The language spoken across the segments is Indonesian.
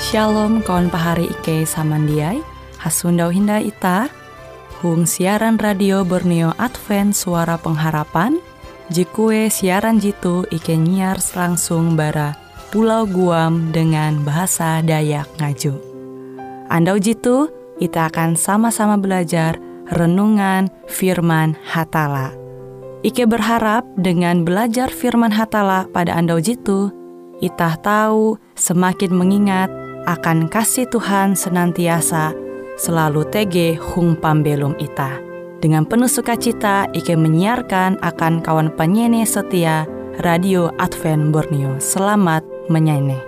Shalom kawan pahari Ike samandiai, hasundau hinda ita, hung siaran radio Borneo Advent Suara Pengharapan, jikue siaran jitu Ike nyiar langsung bara Pulau Guam dengan bahasa Dayak Ngaju. Andau jitu, kita akan sama-sama belajar renungan firman Hatala. Ike berharap dengan belajar firman Hatala pada andau jitu, itah tahu semakin mengingat akan kasih Tuhan senantiasa selalu tege hung pambelum itah. Dengan penuh sukacita Ike menyiarkan akan kawan penyanyi setia Radio Advent Borneo. Selamat menyanyi.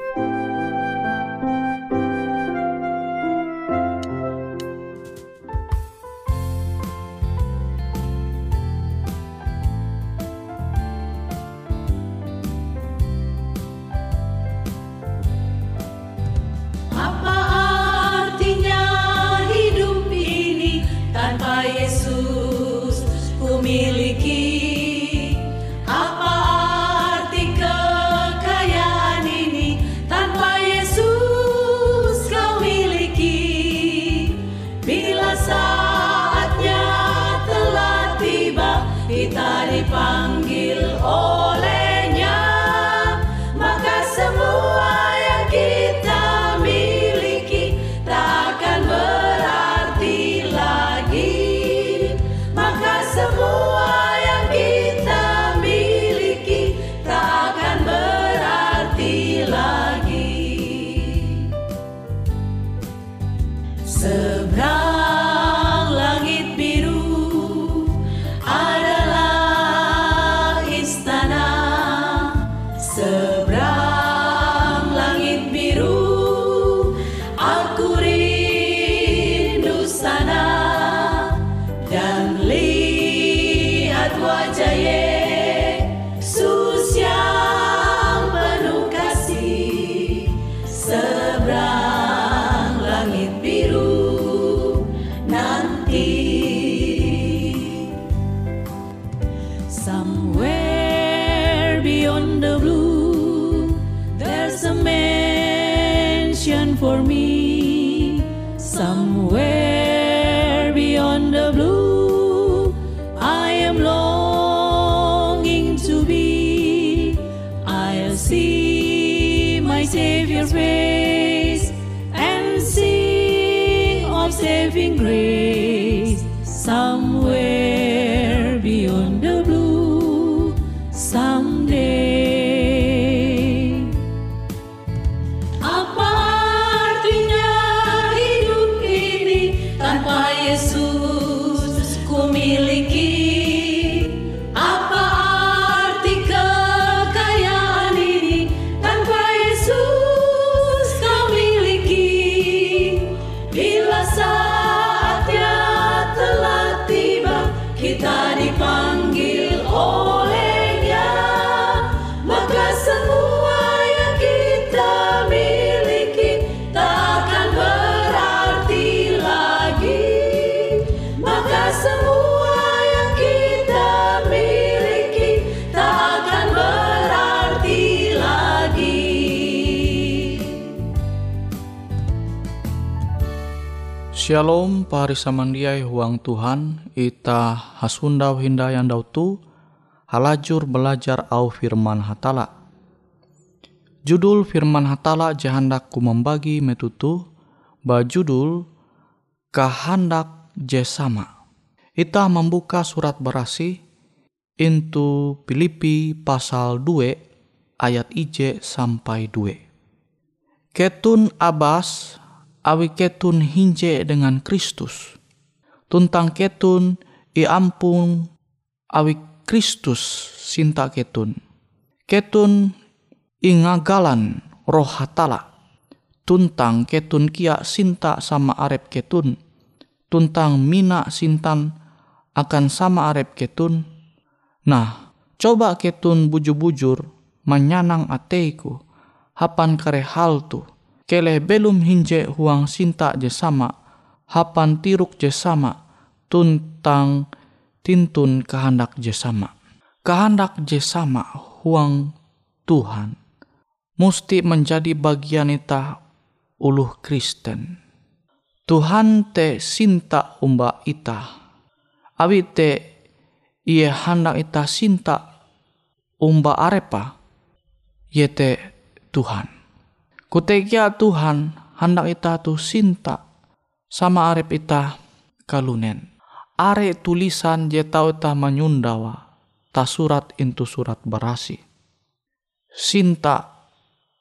Kita dipanggil olehnya, maka semua yang kita miliki tak akan berarti lagi. Maka semua yang kita miliki tak akan berarti lagi. Seberang langit biru seberang langit biru, aku rindu sana dan lihat wajah Yesus yang penuh kasih. Seberang langit biru nanti, somewhere beyond the blue, there's a mansion for me. Somewhere beyond the blue, I am longing to be. I'll see my Savior's face and sing of saving grace. Somewhere beyond the blue, someday. Apa artinya hidup ini tanpa Yesus ku miliki? Apa arti kekayaan ini tanpa Yesus kau miliki? Bila saatnya telah tiba, kita dipanggil olehnya, maka semua yang kita miliki tak akan berarti lagi. Maka semua yang kita miliki tak akan berarti lagi. Shalom pari samandiai huang Tuhan, ita hasundau hinda yang dautu halajur belajar au firman Hatala. Judul firman Hatala jahandak ku membagi metutu bajudul kahandak jesama. Ita membuka surat berasi into Filipi pasal 2 ayat IJ sampai 2. Ketun abas awi ketun hinje dengan Kristus. Tuntang ketun iampun awi Kristus sinta ketun. Ketun ingagalan roh Hatala. Tuntang ketun kia sinta sama arep ketun. Tuntang mina sintan akan sama arep ketun. Nah, coba ketun bujur-bujur menyanang ateiku. Hapan kare hal tu. Kele belum hinje huang sinta jesama, hapan tiruk jesama, tuntang tintun kehendak jesama. Kehendak jesama huang Tuhan musti menjadi bagian ita uluh Kristen. Tuhan te sinta umba ita. Awi te Ie hendak ita sinta umba arepa. Yete Tuhan. Kutegia Tuhan hendak ita tu sinta sama arep ita kalunen. Are tulisan je tau ita menyundawa ta surat intu surat barasi. Sinta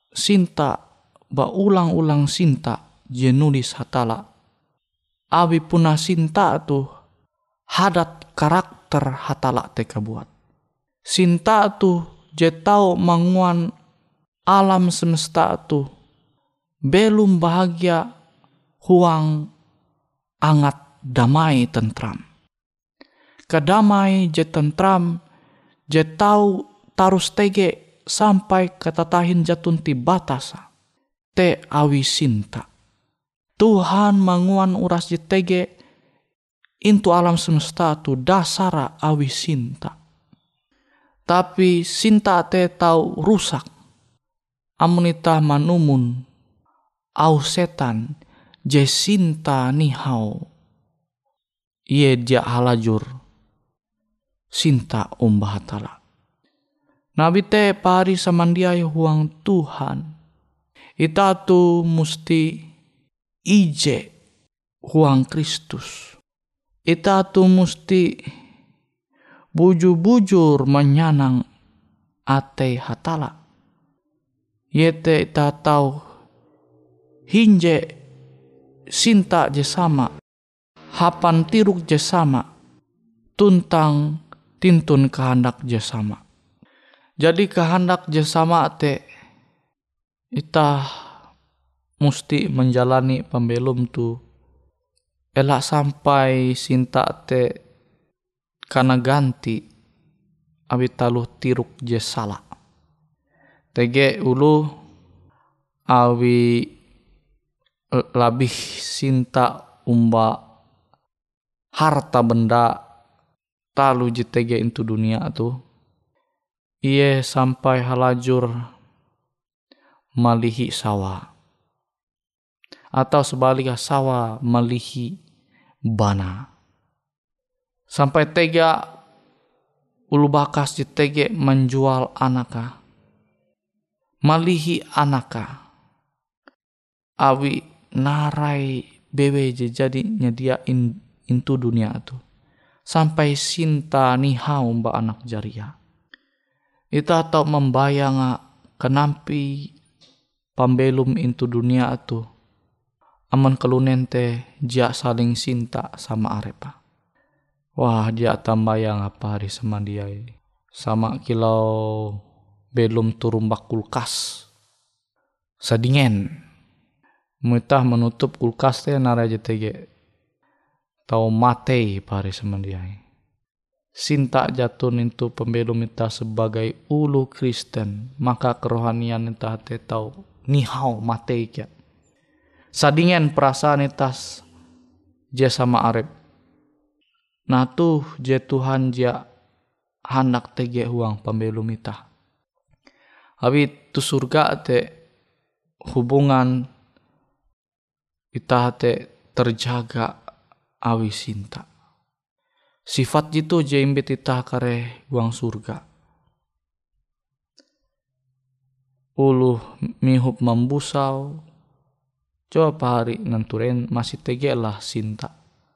ba ulang-ulang sinta je nulis hatala. Abi puna sinta tu hadat karakter hatala teka buat. Sinta tu je tau manguan alam semesta tu belum bahagia huang angat damai tentram. Kadamai je tentram je tau tarus tege sampai katatahin jatun ti batasa. Te awi sinta. Tuhan manguan uras je tege intu alam semesta tu dasara awi sinta. Tapi sinta te tau rusak. Amunita manumun au setan je sinta nihau. Ie dia halajur sinta umbah hatala. Nabi te pari samandiai huang Tuhan. Ita tu musti ije huang Kristus. Ita tu musti bujur-bujur menyanang ate hatala. Yete ita tau hinje sinta je sama. Hapan tiruk je sama. Tuntang tintun kehendak je sama. Jadi kehendak je sama te ita musti menjalani pembelum tu elak sampai sinta te kana ganti abi taluh tiruk je salah. Tege ulu awi labih sinta umba harta benda talu je tege into dunia tu. Ie sampai halajur malihi sawa. Atau sebaliknya sawa malihi bana. Sampai tega ulu bakas je tege menjual anaka. Malihi anaka. Awi narai bewe je jadi nyediain into dunia tu. Sampai sinta nihau mba anak jaria. Ita tau membayang kenampi pambelum into dunia tu. Aman kelunen te dia saling sinta sama arepa. Wah dia tambayang apa hari semandiai. Sama kilau belum turumbak kulkas. Sadingen. Muitah menutup kulkas te nara JTG. Tau matei pari semandiai. Sinta jatun itu pembelum ita sebagai ulu Kristen. Maka kerohanian ita te tau nihau matei kia. Sadingen perasaan itas je sama arep. Nah tuh je Tuhan dia hendak tege huang pembelum ita. Abi tu surga te hubungan ita te terjaga awi sinta. Sifat itu je imbit ita kare huang surga. Uluh mihup membusau. Coba hari nanturen masih tege lah sinta.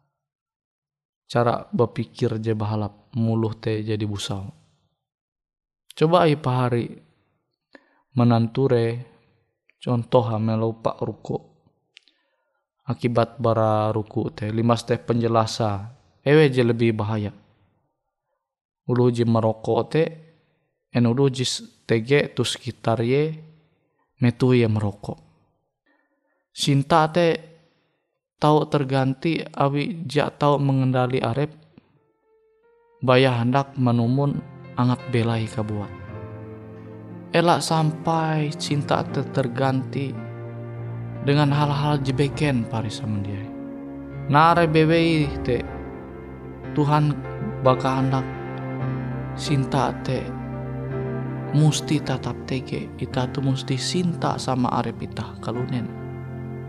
Cara berpikir je bahalap muluh te jadi busau. Coba ai pahari menanture contoh melupa ruku. Akibat bara ruku te limas te penjelasa ewe je lebih bahaya. Ulu je merokok te en ulu je tege tu sekitar ye metu ye merokok. Sinta te tau terganti awi jak tau mengendali arep. Baya hendak menumun angat belai kabuat. Elak sampai cinta te terganti dengan hal-hal jebeken parisa mendiai. Nare bebei te Tuhan baka hendak cinta te musti tatap tege. Ita tu musti cinta sama arep ita kalunen.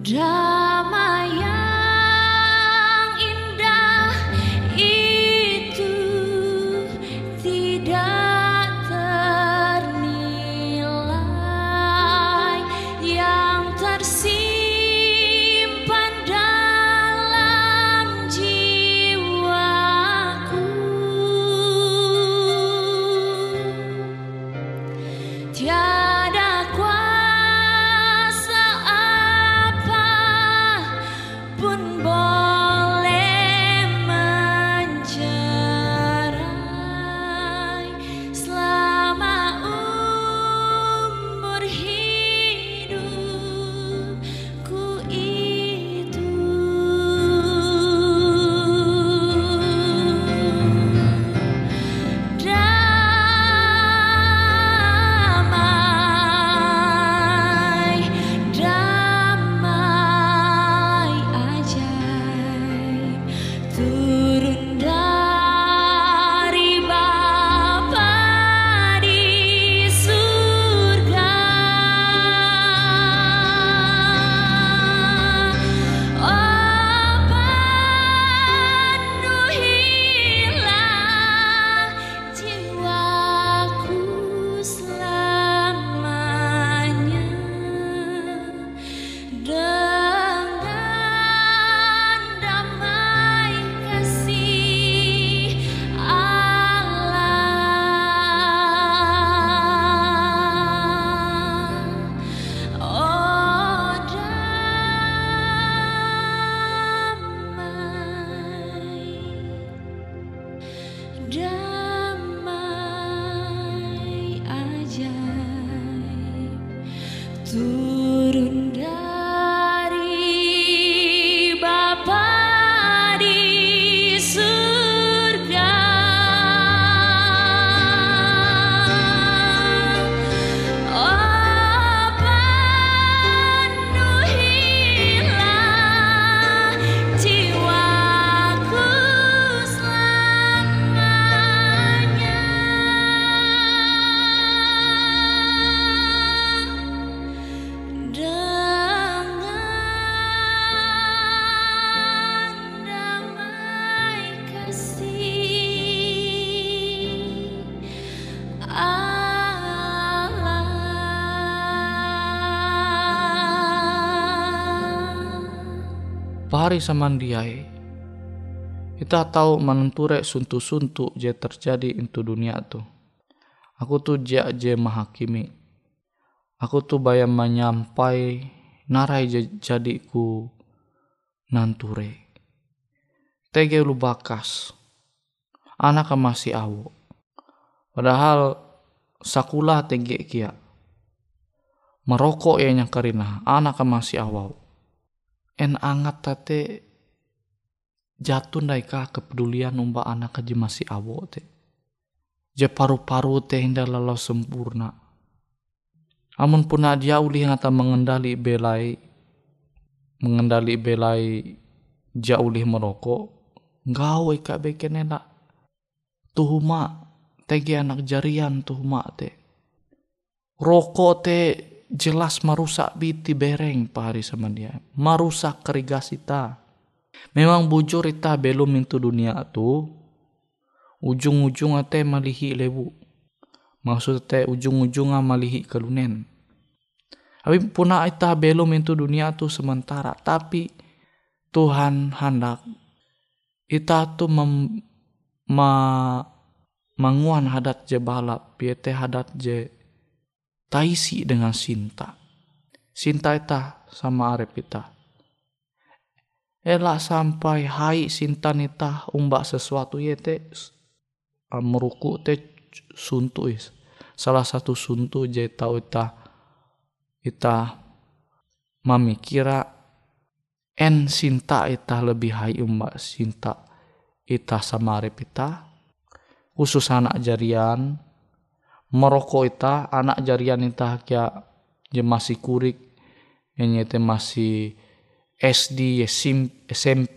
Damai yang indah itu tidak ternilai, yang tersimpan dalam jiwaku. Tiada kuasa apa pun boleh mencerai selama umur hidupku itu. Damai, damai ajaib turun dari Bapa di surga. Oh, penuhilah jiwaku selamanya dengan damai kasih Allah. Oh, damai ajaib turun dari Bapa di surga. Oh, penuhilah jiwaku selamanya dengan damai kasih Allah. Pahari samandiai, kita tahu menenture suntu-suntu je terjadi into dunia tu. Aku tu je mahakimi. Aku tu bayam menyampai narai jadi ku nanture. Tege lu bakas. Anak masih awo. Padahal sakulah tege kia. Merokok ya yang karina. Anak masih awau. En angat tate jatuh daika kepedulian umba anak aja masih awo te. Je paru-paru te hinda lalau sempurna. Amun puna dia uli ngata mengendali belai jaulih merokok, gawe ka bekenena tuhuma tege anak jarian tuhuma te. Rokok te jelas merusak biti bereng pahari sama dia, merusak kerigasita. Memang bujur ita belum into dunia tu, ujung-ujung ate malihi lewu. Maksud te ujung-ujungnya malihi kelunen. Tapi puna ita belum into dunia tu sementara. Tapi Tuhan hendak ita tu manguan hadat je balap. Piete hadat je taisi dengan cinta. Cinta ita sama arep ita. Elak sampai hai cinta nita umbak sesuatu yete meruku te suntu is. Salah satu suntu je tau ita memikira en cinta ita lebih hai umbak cinta ita sama arep ita. Khusus anak jarian merokok ita anak jarian ita kya je masih kurik nyete masih SD, SMP,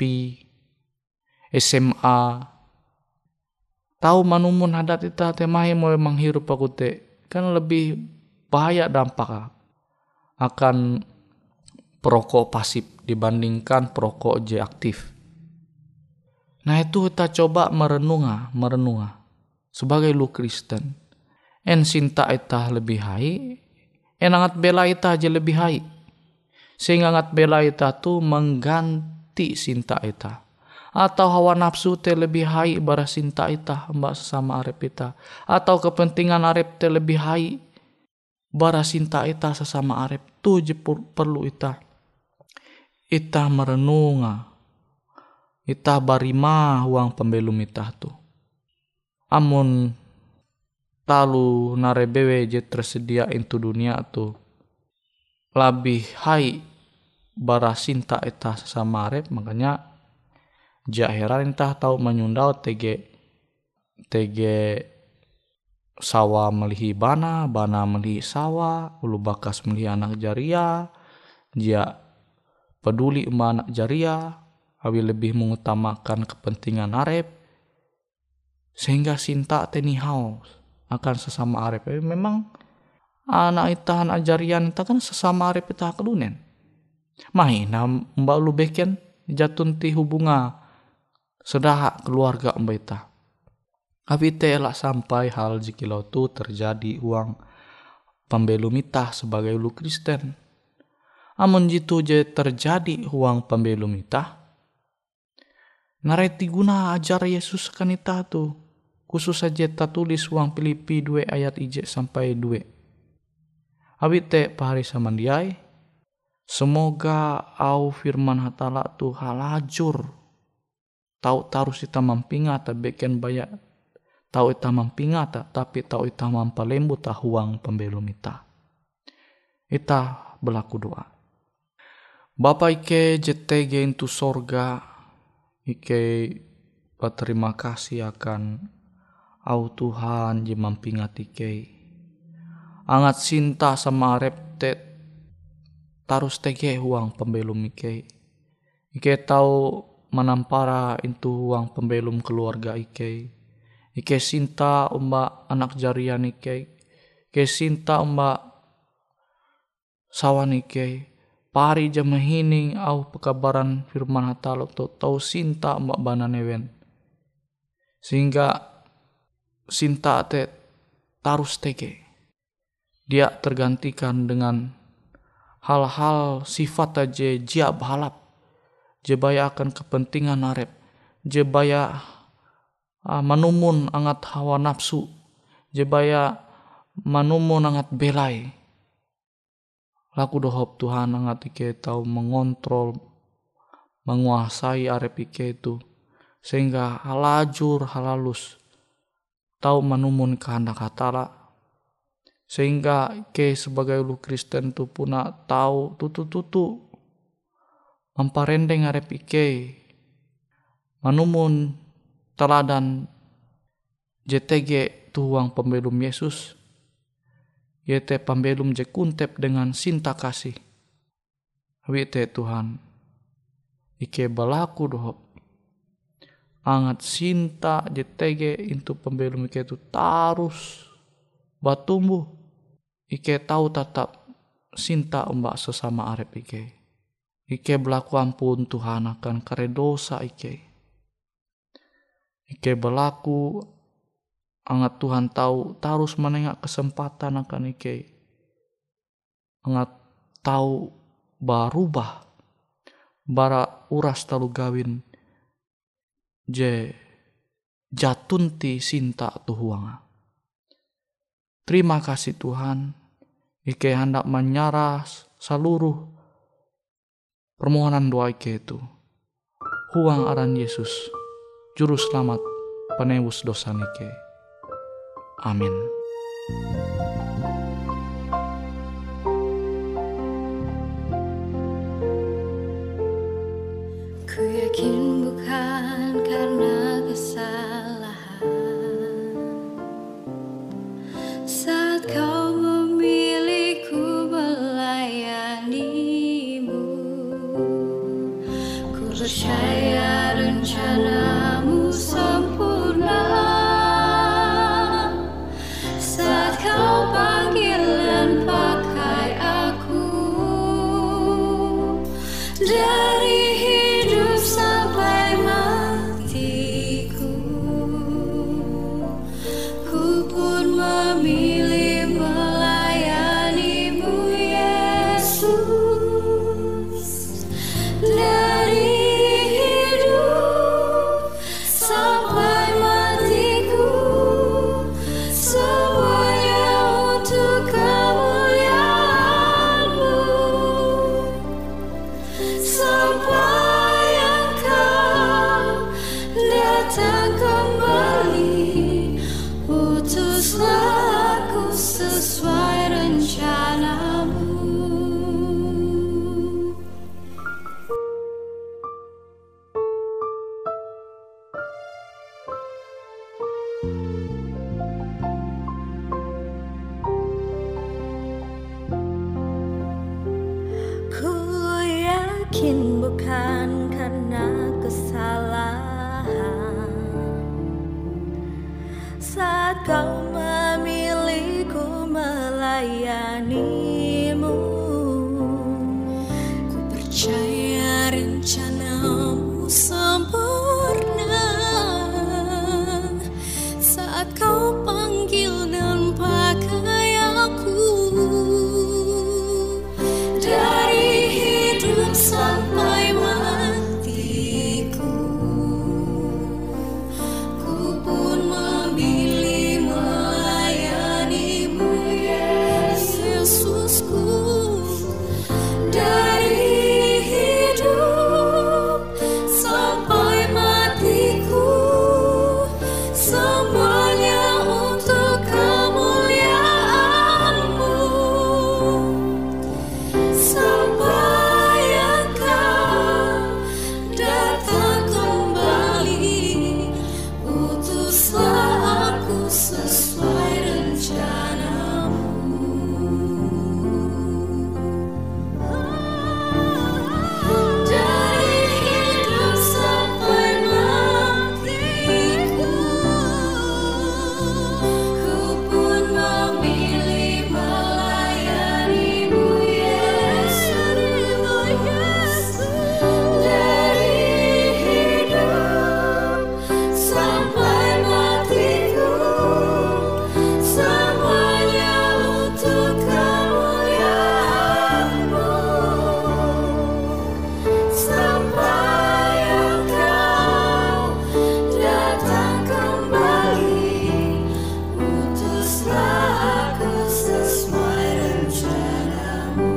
SMA. Tahu manumun hadat ita temahe mau menghirup aku te kan lebih bahaya dampak akan perokok pasif dibandingkan perokok je aktif. Nah itu kita coba merenunga sebagai lu Kristen. En sinta ita lebih hai, en angat bela ita aja lebih hai. Sehingga angat bela ita tu mengganti sinta ita. Atau hawa nafsu te lebih hai bara sinta ita mbak sesama arep ita. Atau kepentingan arep te lebih hai bara sinta ita sesama arep. Tu je perlu ita. Ita merenunga. Ita barima huang pembelum ita tu. Amun talu narebewe je tersedia into dunia tu lebih hai bara sinta ita sesama arep, makanya jaheran entah tahu menyundau tege sawa melihi bana melihi sawa, ulu bakas melihi anak jaria, dia peduli sama anak jaria, awi lebih mengutamakan kepentingan arep, sehingga sinta teni haus akan sesama arep. Memang anak itahan ajarian ita kan sesama arep ita kelunen. Mahina mbak lu beken jatun ti hubunga sedaha keluarga mbak ita. Tapi telak sampai hal jikilau tu terjadi uang pembelum ita sebagai lu Kristen. Amun jitu je terjadi uang pembelum ita, nareti guna ajar Yesus kan ita tu. Khusus saja ta tulis uang Filipi 2 ayat 1 sampai 2. Awit te pahari samandiai, semoga au firman hatala tu halajur. Tau tarus ita mampingata beken bayak. Tau ita mampingata tapi tau ita mampalembu ta huang pembelum ita. Ita berlaku doa. Bapa ike JTG into sorga, ike berterima kasih akan au Tuhan je mampingat ike. Angat cinta sama arep te tarus tege huang pembelum ike. Ike tahu menampara into huang pembelum keluarga ike. Ike cinta umba anak jarian ike. Ike cinta umba sawan ike. Pari jam mahining au pekabaran firman hatala tau sinta mbak bana newen. Sehingga sinta te tarus tege. Dia tergantikan dengan hal-hal sifat aja jia balap. Jebaya akan kepentingan arep. Jebaya manumun angat hawa nafsu. Jebaya manumun angat belai. Laku dohop Tuhan angat ike tahu mengontrol, menguasai arep ike itu. Sehingga halajur halalus. Tahu manumun kehendak hatala. Sehingga ike sebagai lu Kristen tu puna tahu tutu memparendeng arep ike. Manumun teladan JTG tuang pembelum Yesus. Yete pembelum je kuntep dengan cinta kasih. Wite Tuhan. Ike balaku dohop. Angat cinta JTG into pembelum ike itu tarus batumbuh. Ike tahu tetap cinta mbak sesama arep ike. Ike berlaku ampun Tuhan akan kare dosa ike. Ike berlaku angat Tuhan tahu tarus menengak kesempatan akan ike. Angat tahu barubah bara uras talu gawin je jatunti sinta tuhuanga. Terima kasih Tuhan. Ike hendak menyaras seluruh permohonan doa ike itu. Huang aran Yesus, Juru Selamat penebus dosa nike. Amin. Ku yakin bukan karena kesalahan saat kau memilihku melayanimu. Ku percaya rencanamu sempurna saat kau panggil dan pakai aku Utuslah aku sesuai rencanamu. Ku yakin bukan karena kesalahan saat kau memilihku melayanimu. Ku percaya rencanamu sempurna saat kau panggil dan pakai aku. Dari hidup sampai matiku, ku pun memilih melayanimu, Yesusku. Dari hidup sampai matiku, semuanya untuk kemuliaan-Mu. Sampai Engkau datang kembali, utuslah aku sesuai rencanamu. Dari hidup sampai matiku, ku pun memilih melayanimu, Yesus. Dari hidup sampai matiku, semuanya untuk kemuliaan-Mu. Sampai Engkau datang kembali, utuslah aku sesuai rencanamu.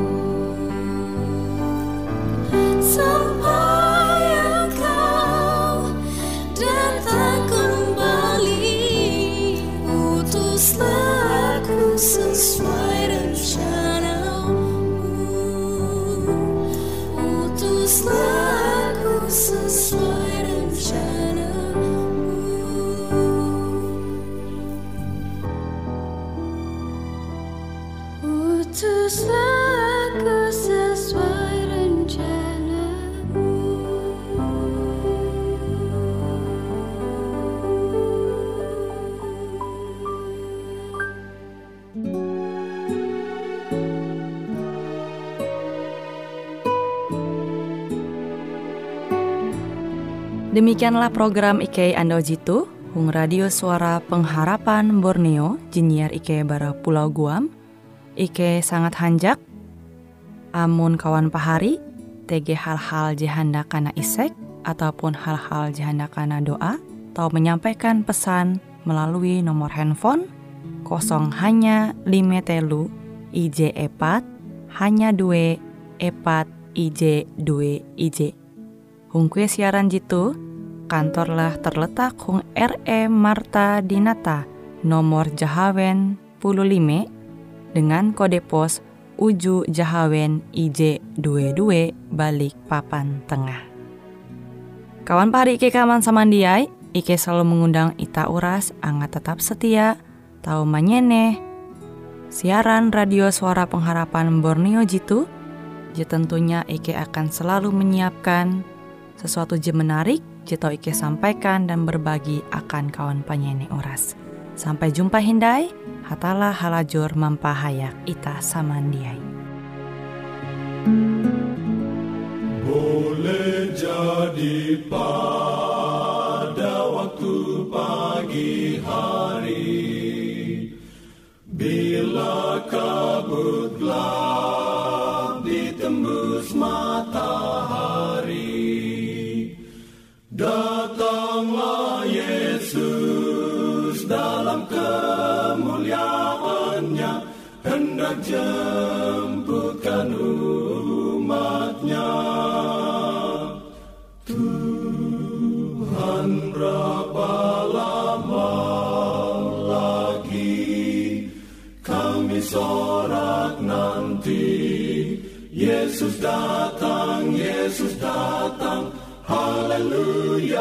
Sampai Engkau datang kembali, utuslah aku sesuai rencanamu. Utuslah aku sesuai rencanamu. Utuslah aku sesuai rencanamu. Demikianlah program Ike Ando Jitu, Hung Radio Suara Pengharapan Borneo, Jinnyar Ike bara Pulau Guam. Ike sangat hanjak, amun kawan pahari, TG hal-hal jihanda kana isek, ataupun hal-hal jihanda kana doa, atau menyampaikan pesan melalui nomor handphone 0 hanya 5 telu IJ epat hanya 2 epat IJ 2 IJ. Hung kue siaran jitu, kantorlah terletak Hung RE Marta Dinata, nomor Jahawen 15, dengan kode pos Uju Jahawen IJ 22 balik papan tengah. Kawan pahari Ike kaman samandiai, Ike selalu mengundang ita uras angga tetap setia, tahu manyeneh siaran radio Suara Pengharapan Borneo jitu. Je tentunya Ike akan selalu menyiapkan sesuatu je menarik, je tau Ike sampaikan dan berbagi akan kawan penyanyi uras. Sampai jumpa hindai, hatalah halajur mampahayak ita samandiai. Boleh jadi pada waktu pagi hari, bila kabut gelap ditembus matahari, datanglah Yesus dalam kemuliaannya, hendak jemputkan umatnya. Tuhan berapa lama lagi kami sorak nanti. Yesus datang, Yesus datang, haleluya,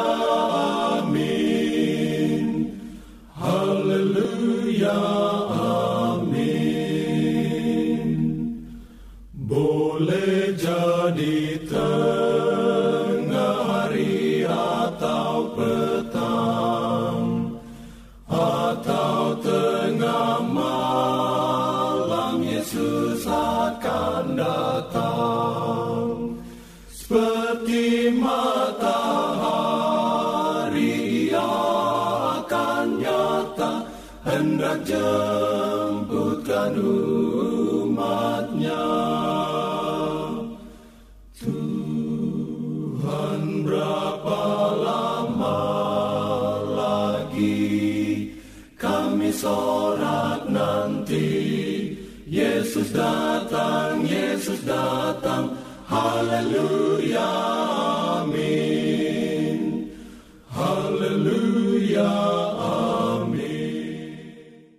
amin. Haleluya, amin. Boleh jadi tengah hari atau petang, atau tengah malam, Yesus akan datang. Seperti matahari Ia akan nyata, hendak jemputkan umat-Nya. Tuhan, berapa lama lagi kami sorak nanti. Yesus datang, Yesus datang, haleluya, amin. Haleluya,